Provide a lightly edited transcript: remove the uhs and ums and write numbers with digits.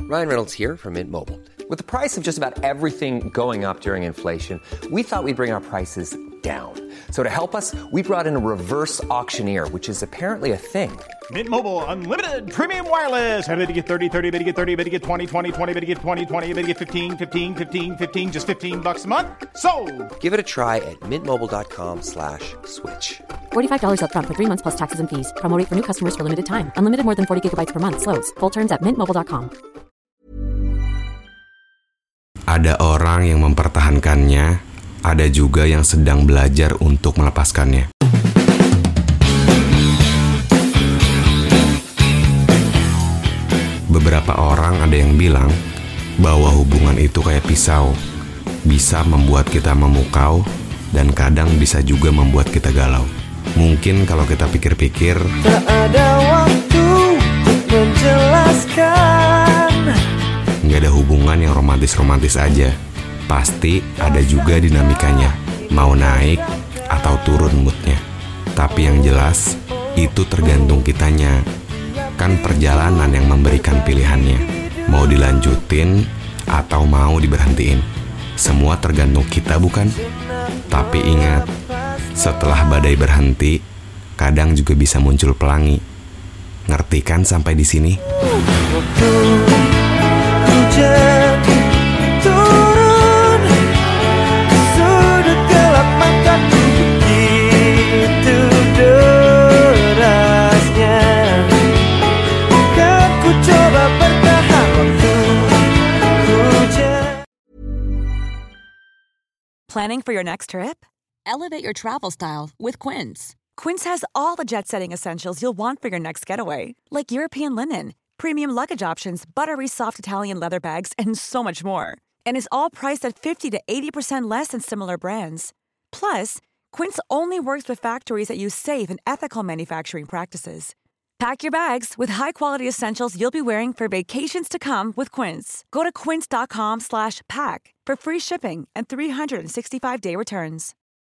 Ryan Reynolds here from Mint Mobile. With the price of just about everything going up during inflation, we thought we'd bring our prices down. So to help us, we brought in a reverse auctioneer, which is apparently a thing. Mint Mobile Unlimited Premium Wireless. How to get 30, 30, bit to get 30, bit to get 20, 20, 20, bit to get 20, 20, bit to get 15, 15, 15, 15, just $15 a month? Sold! Give it a try at mintmobile.com/switch. $45 up front for 3 months plus taxes and fees. Promo rate for new customers for limited time. Unlimited more than 40 gigabytes per month. Slows full terms at mintmobile.com. Ada orang yang mempertahankannya, ada juga yang sedang belajar untuk melepaskannya. Beberapa orang ada yang bilang bahwa hubungan itu kayak pisau, bisa membuat kita memukau dan kadang bisa juga membuat kita galau. Mungkin kalau kita pikir-pikir, tak ada waktu menjelaskan. nggak ada hubungan yang romantis-romantis aja. Pasti ada juga dinamikanya, mau naik atau turun moodnya. Tapi yang jelas, itu tergantung kitanya. Kan perjalanan yang memberikan pilihannya, mau dilanjutin atau mau diberhentiin. Semua tergantung kita, bukan? Tapi ingat, setelah badai berhenti, kadang juga bisa muncul pelangi. Ngerti kan sampai di sini? Hujan turun sudut gelap mataku, begitu derasnya. Kan ku coba bertahan waktu hujan. Planning for your next trip? Elevate your travel style with Quince. Quince has all the jet-setting essentials you'll want for your next getaway, like European linen, premium luggage options, buttery soft Italian leather bags, and so much more. And is all priced at 50 to 80% less than similar brands. Plus, Quince only works with factories that use safe and ethical manufacturing practices. Pack your bags with high-quality essentials you'll be wearing for vacations to come with Quince. Go to quince.com/pack for free shipping and 365-day returns.